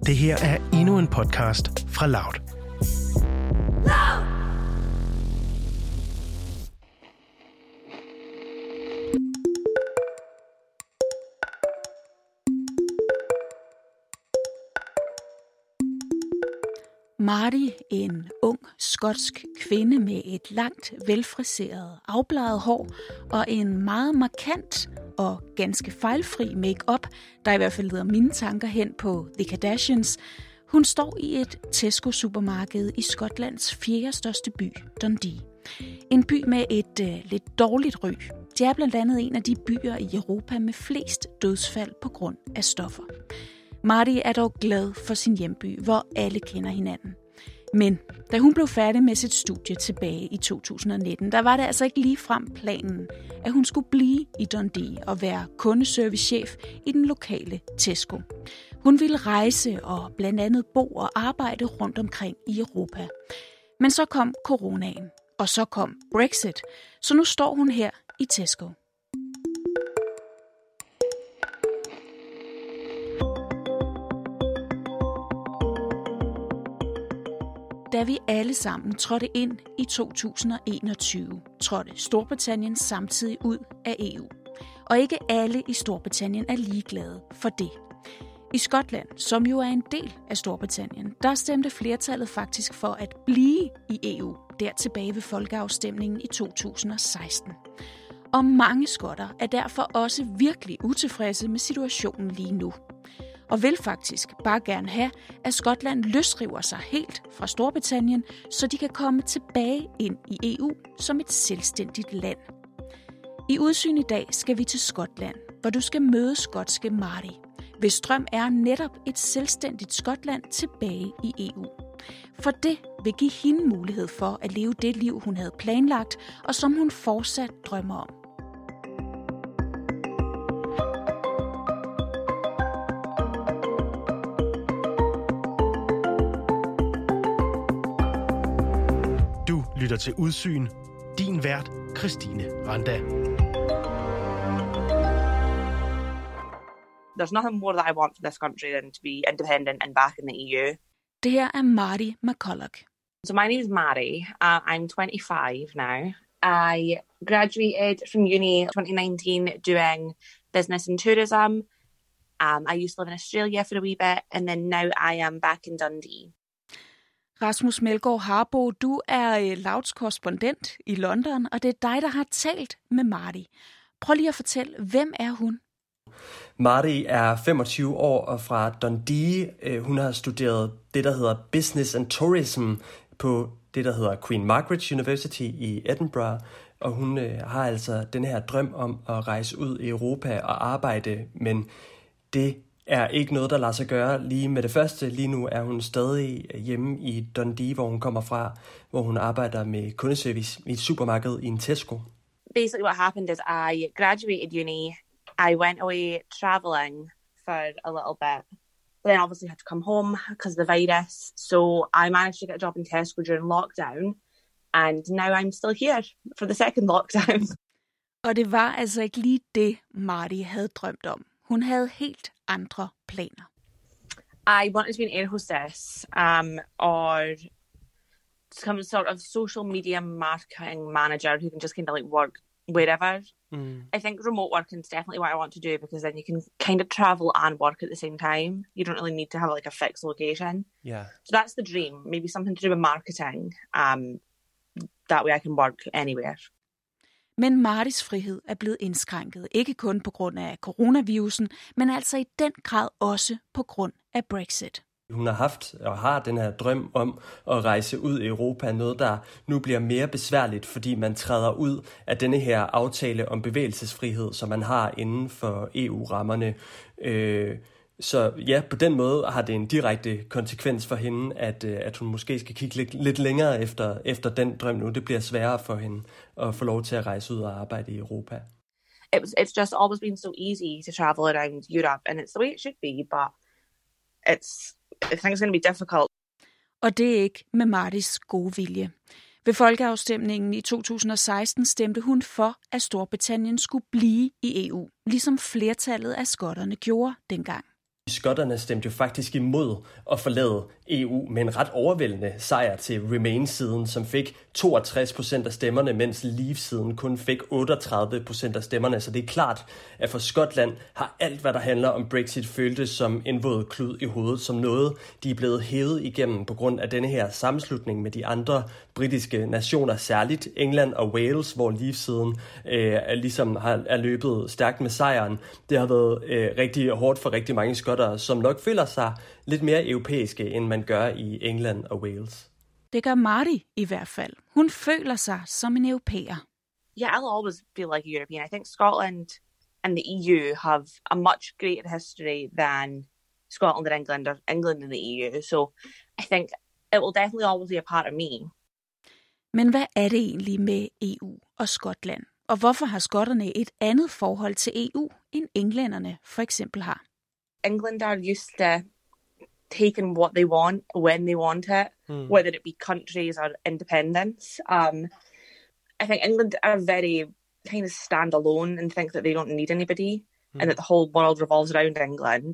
Det her er endnu en podcast fra Loud. Marty, en ung skotsk kvinde med et langt, velfriseret, afbladet hår og en meget markant og ganske fejlfri make-up, der i hvert fald leder mine tanker hen på The Kardashians. Hun står i et Tesco-supermarked i Skotlands 4. største by, Dundee. En by med et lidt dårligt ry. Det er blandt andet en af de byer i Europa med flest dødsfald på grund af stoffer. Marty er dog glad for sin hjemby, hvor alle kender hinanden. Men da hun blev færdig med sit studie tilbage i 2019, der var det altså ikke ligefrem planen, at hun skulle blive i Dundee og være kundeservicechef i den lokale Tesco. Hun ville rejse og blandt andet bo og arbejde rundt omkring i Europa. Men så kom coronaen, og så kom Brexit, så nu står hun her i Tesco. Da vi alle sammen trådte ind i 2021, trådte Storbritannien samtidig ud af EU. Og ikke alle i Storbritannien er ligeglade for det. I Skotland, som jo er en del af Storbritannien, der stemte flertallet faktisk for at blive i EU, der tilbage ved folkeafstemningen i 2016. Og mange skotter er derfor også virkelig utilfredse med situationen lige nu. Og vil faktisk bare gerne have, at Skotland løsriver sig helt fra Storbritannien, så de kan komme tilbage ind i EU som et selvstændigt land. I Udsyn i dag skal vi til Skotland, hvor du skal møde skotske Marty, hvis drøm er netop et selvstændigt Skotland tilbage i EU. For det vil give hende mulighed for at leve det liv, hun havde planlagt, og som hun fortsat drømmer om. Du lytter til Udsyn. Din vært, Christine Randa. There's nothing more that I want for this country than to be independent and back in the EU. Det her er Marty McCulloch. So my name is Mary. I'm 25 now. I graduated from uni 2019 doing business and tourism. I used to live in Australia for a wee bit, and then now I am back in Dundee. Rasmus Melgaard Harbo, du er Louds korrespondent i London, og det er dig, der har talt med Marty. Prøv lige at fortælle, hvem er hun? Marty er 25 år og fra Dundee. Hun har studeret det, der hedder Business and Tourism på det, der hedder Queen Margaret University i Edinburgh. Og hun har altså den her drøm om at rejse ud i Europa og arbejde, men det er ikke noget, der lader sig gøre lige med det første. Lige nu er hun stadig hjemme i Dundee, hvor hun kommer fra, hvor hun arbejder med kundeservice i et supermarked i en Tesco. Basically what happened is I graduated uni. I went away travelling for a little bit. But then obviously had to come home because of the virus. So I managed to get a job in Tesco during lockdown. And now I'm still here for the second lockdown. Og det var altså ikke lige det, Marty havde drømt om. Hun havde helt andre planer. I wanted to be an air hostess or some sort of social media marketing manager who can just kind of like work wherever. I think remote working is definitely what I want to do because then you can kind of travel and work at the same time. You don't really need to have like a fixed location. Yeah. So that's the dream. Maybe something to do with marketing. That way I can work anywhere. Men Martys frihed er blevet indskrænket, ikke kun på grund af coronavirusen, men altså i den grad også på grund af Brexit. Hun har haft og har den her drøm om at rejse ud i Europa, noget der nu bliver mere besværligt, fordi man træder ud af denne her aftale om bevægelsesfrihed, som man har inden for EU-rammerne. Så ja, på den måde har det en direkte konsekvens for hende, at hun måske skal kigge lidt længere efter den drøm nu. Det bliver sværere for hende at få lov til at rejse ud og arbejde i Europa. It's just always been so easy to travel around Europe, and it's the way it should be, but I think it's going to be difficult. Og det er ikke med Martys gode vilje. Ved folkeafstemningen i 2016 stemte hun for, at Storbritannien skulle blive i EU, ligesom flertallet af skotterne gjorde dengang. Skotterne stemte jo faktisk imod at forlade EU med en ret overvældende sejr til Remain-siden, som fik 62% af stemmerne, mens Leave-siden kun fik 38% af stemmerne. Så det er klart, at for Skotland har alt, hvad der handler om Brexit, føltes som en våd klud i hovedet, som noget, de er blevet hævet igennem på grund af denne her sammenslutning med de andre britiske nationer, særligt England og Wales, hvor Leave-siden ligesom er løbet stærkt med sejren. Det har været rigtig hårdt for rigtig mange skotter, som nok føler sig lidt mere europæiske, end man gør i England og Wales. Det gør Marty i hvert fald. Hun føler sig som en europæer. Yeah, I'll always feel like a European. I think Scotland and the EU have a much greater history than Scotland and England, or England and the EU. So I think it will definitely always be a part of me. Men hvad er det egentlig med EU og Skotland? Og hvorfor har skotterne et andet forhold til EU, end englænderne for eksempel har? England are used to taking what they want when they want it, whether it be countries or independence. I think England are very kind of stand alone and think that they don't need anybody and that the whole world revolves around England.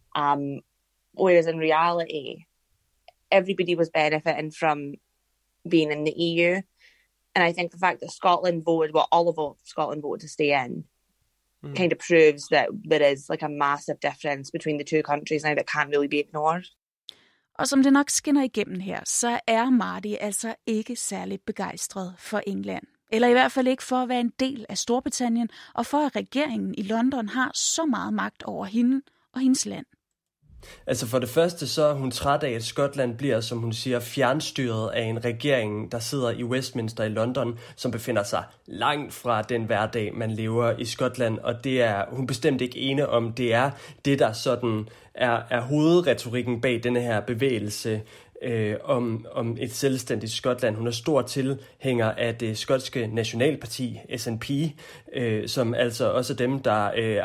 Whereas in reality, everybody was benefiting from being in the EU. And I think the fact that Scotland voted, well, all of Scotland voted to stay in, kind of proves that there is like a massive difference between the two countries now that can't really be ignored. Og som det nok skinner igennem her, så er Marty altså ikke særlig begejstret for England. Eller i hvert fald ikke for at være en del af Storbritannien, og for at regeringen i London har så meget magt over hende og hendes land. Altså for det første, så er hun træt af, at Skotland bliver, som hun siger, fjernstyret af en regering, der sidder i Westminster i London, som befinder sig langt fra den hverdag, man lever i Skotland. Og det er hun bestemt ikke ene om. Det er det, der sådan er hovedretorikken bag denne her bevægelse om et selvstændigt Skotland. Hun er stor tilhænger af det skotske nationalparti, SNP, som altså også er dem, der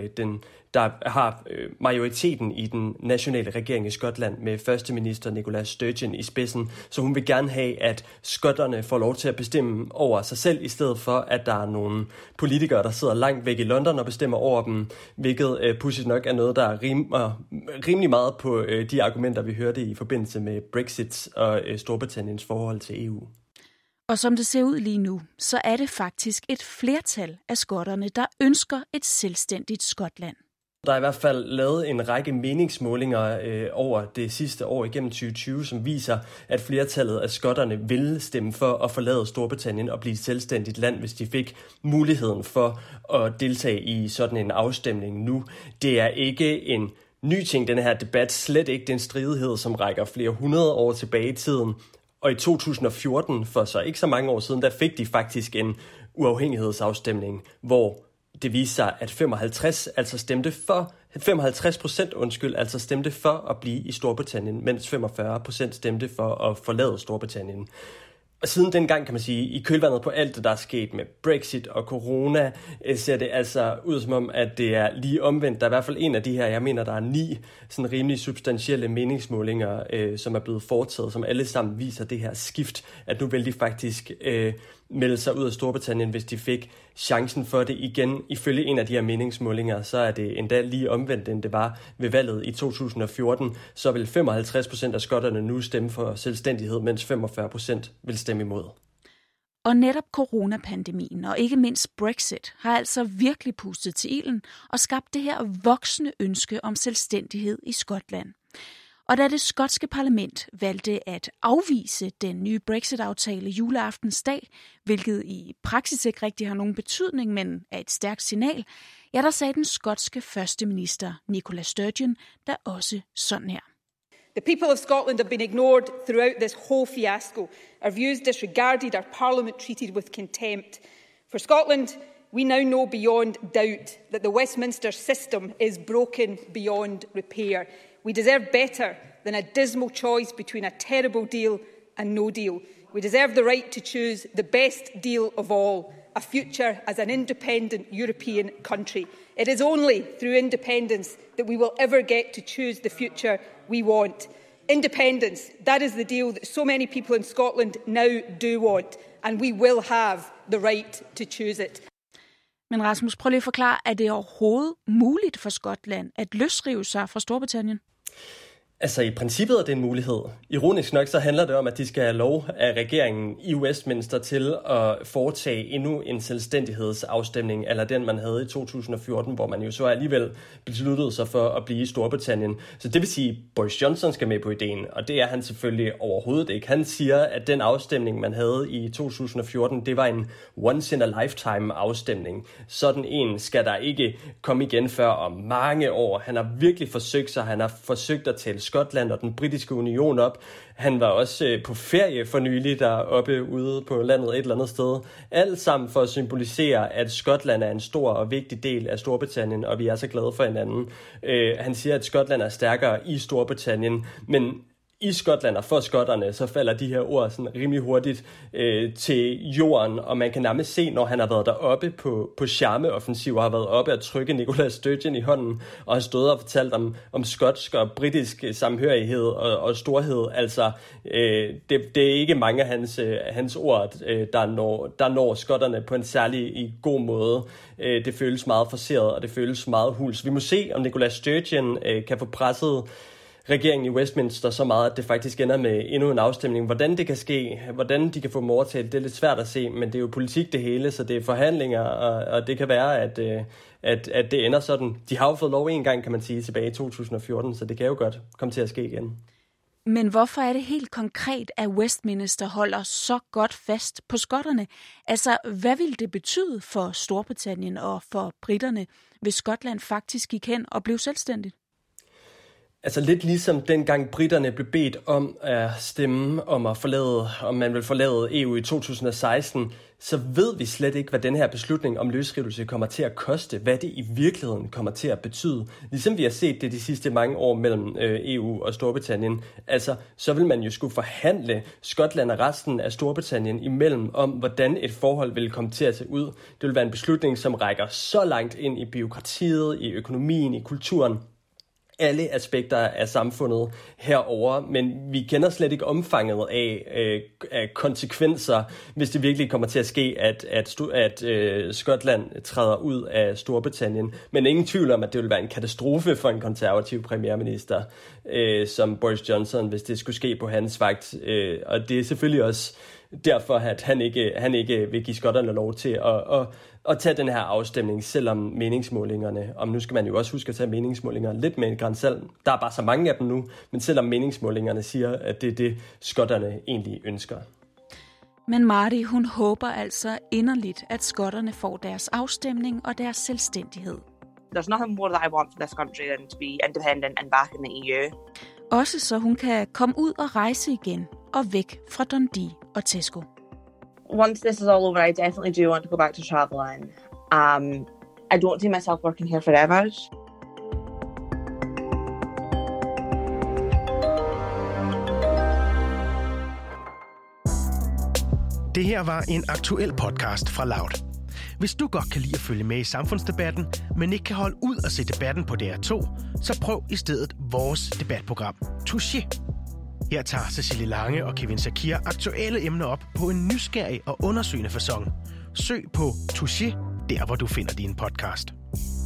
har majoriteten i den nationale regering i Skotland med førsteminister Nicola Sturgeon i spidsen. Så hun vil gerne have, at skotterne får lov til at bestemme over sig selv, i stedet for, at der er nogle politikere, der sidder langt væk i London og bestemmer over dem, hvilket pudsigt nok er noget, der rimer rimelig meget på de argumenter, vi hørte i forbindelse med Brexit og Storbritanniens forhold til EU. Og som det ser ud lige nu, så er det faktisk et flertal af skotterne, der ønsker et selvstændigt Skotland. Der er i hvert fald lavet en række meningsmålinger over det sidste år igennem 2020, som viser, at flertallet af skotterne vil stemme for at forlade Storbritannien og blive et selvstændigt land, hvis de fik muligheden for at deltage i sådan en afstemning nu. Det er ikke en ny ting, den her debat, slet ikke den stridighed, som rækker flere hundrede år tilbage i tiden. Og i 2014, for så ikke så mange år siden, der fik de faktisk en uafhængighedsafstemning, hvor det viste sig, at 55% altså stemte for at blive i Storbritannien, mens 45% stemte for at forlade Storbritannien. Og siden dengang, kan man sige, i kølvandet på alt det, der er sket med Brexit og corona, ser det altså ud som om, at det er lige omvendt. Der er i hvert fald en af de her, jeg mener, der er 9 sådan rimelig substantielle meningsmålinger, som er blevet foretaget, som alle sammen viser det her skift, at nu vil de faktisk melde sig ud af Storbritannien, hvis de fik chancen for det igen. Ifølge en af de her meningsmålinger, så er det endda lige omvendt, end det var ved valget i 2014. Så vil 55% af skotterne nu stemme for selvstændighed, mens 45% vil stemme imod. Og netop coronapandemien og ikke mindst Brexit har altså virkelig pustet til ilden og skabt det her voksende ønske om selvstændighed i Skotland. Og da det skotske parlament valgte at afvise den nye Brexit-aftale juleaftensdag, hvilket i praksis ikke rigtig har nogen betydning, men er et stærkt signal, ja, der sagde den skotske førsteminister Nicola Sturgeon der også sådan her. The people of Scotland have been ignored throughout this whole fiasco. Our views disregarded, our parliament treated with contempt. For Scotland, we now know beyond doubt that the Westminster system is broken beyond repair. We deserve better than a dismal choice between a terrible deal and no deal. We deserve the right to choose the best deal of all, a future as an independent European country. It is only through independence that we will ever get to choose the future we want. Independence, that is the deal that so many people in Scotland now do want, and we will have the right to choose it. Men Rasmus, prøv lige at forklare, er det overhovedet muligt for Skotland at løsrive sig fra Storbritannien? Altså i princippet er det en mulighed. Ironisk nok så handler det om, at de skal have lov af regeringen i Westminster til at foretage endnu en selvstændighedsafstemning, eller den man havde i 2014, hvor man jo så alligevel besluttede sig for at blive i Storbritannien. Så det vil sige, at Boris Johnson skal med på ideen, og det er han selvfølgelig overhovedet ikke. Han siger, at den afstemning, man havde i 2014, det var en once-in-a-lifetime afstemning. Sådan en skal der ikke komme igen før om mange år. Han har virkelig forsøgt sig, han har forsøgt at tale Skotland og den britiske union op. Han var også på ferie for nylig deroppe ude på landet et eller andet sted. Alt sammen for at symbolisere, at Skotland er en stor og vigtig del af Storbritannien, og vi er så glade for hinanden. Han siger, at Skotland er stærkere i Storbritannien, men i Skotland og for skotterne, så falder de her ord sådan rimelig hurtigt til jorden, og man kan nærmest se, når han har været deroppe på charmeoffensiv og har været oppe at trykke Nicola Sturgeon i hånden, og har stået og fortalt om skotsk og britisk samhørighed og storhed. Altså, det er ikke mange af hans ord, der når skotterne på en særlig god måde. Det føles meget forceret, og det føles meget huls. Vi må se, om Nicola Sturgeon kan få presset regeringen i Westminster så meget, at det faktisk ender med endnu en afstemning. Hvordan det kan ske, hvordan de kan få dem overtalt, det er lidt svært at se, men det er jo politik det hele, så det er forhandlinger, og det kan være, at det ender sådan. De har jo fået lov en gang, kan man sige, tilbage i 2014, så det kan jo godt komme til at ske igen. Men hvorfor er det helt konkret, at Westminster holder så godt fast på skotterne? Altså, hvad vil det betyde for Storbritannien og for briterne, hvis Skotland faktisk gik hen og blev selvstændigt? Altså lidt ligesom dengang briterne blev bedt om at stemme om man vil forlade EU i 2016, så ved vi slet ikke, hvad den her beslutning om løsrivelse kommer til at koste, hvad det i virkeligheden kommer til at betyde. Ligesom vi har set det de sidste mange år mellem EU og Storbritannien. Altså, så vil man jo skulle forhandle Skotland og resten af Storbritannien imellem om, hvordan et forhold vil komme til at se ud. Det vil være en beslutning, som rækker så langt ind i bureaukratiet, i økonomien, i kulturen. Alle aspekter af samfundet herover, men vi kender slet ikke omfanget af konsekvenser, hvis det virkelig kommer til at ske, at Skotland træder ud af Storbritannien. Men ingen tvivl om, at det vil være en katastrofe for en konservativ premierminister som Boris Johnson, hvis det skulle ske på hans vagt. Og det er selvfølgelig også derfor, at han ikke vil give skotterne lov til at tage den her afstemning, selvom meningsmålingerne, om nu skal man jo også huske at tage meningsmålinger lidt med en gran salt. Der er bare så mange af dem nu, men selvom meningsmålingerne siger, at det er det, skotterne egentlig ønsker. Men Marty, hun håber altså inderligt, at skotterne får deres afstemning og deres selvstændighed. There's nothing more that I want for this country than to be independent and back in the EU. Også så hun kan komme ud og rejse igen og væk fra Dundee og Tesco. Once this is all over, I definitely do want to go back to traveling. I don't see myself working here forever. Det her var en aktuel podcast fra Loud. Hvis du godt kan lide at følge med i samfundsdebatten, men ikke kan holde ud og se debatten på DR2, så prøv i stedet vores debatprogram, Touché. Her tager Cecilie Lange og Kevin Shakir aktuelle emner op på en nysgerrig og undersøgende facon. Søg på Touché, der hvor du finder din podcast.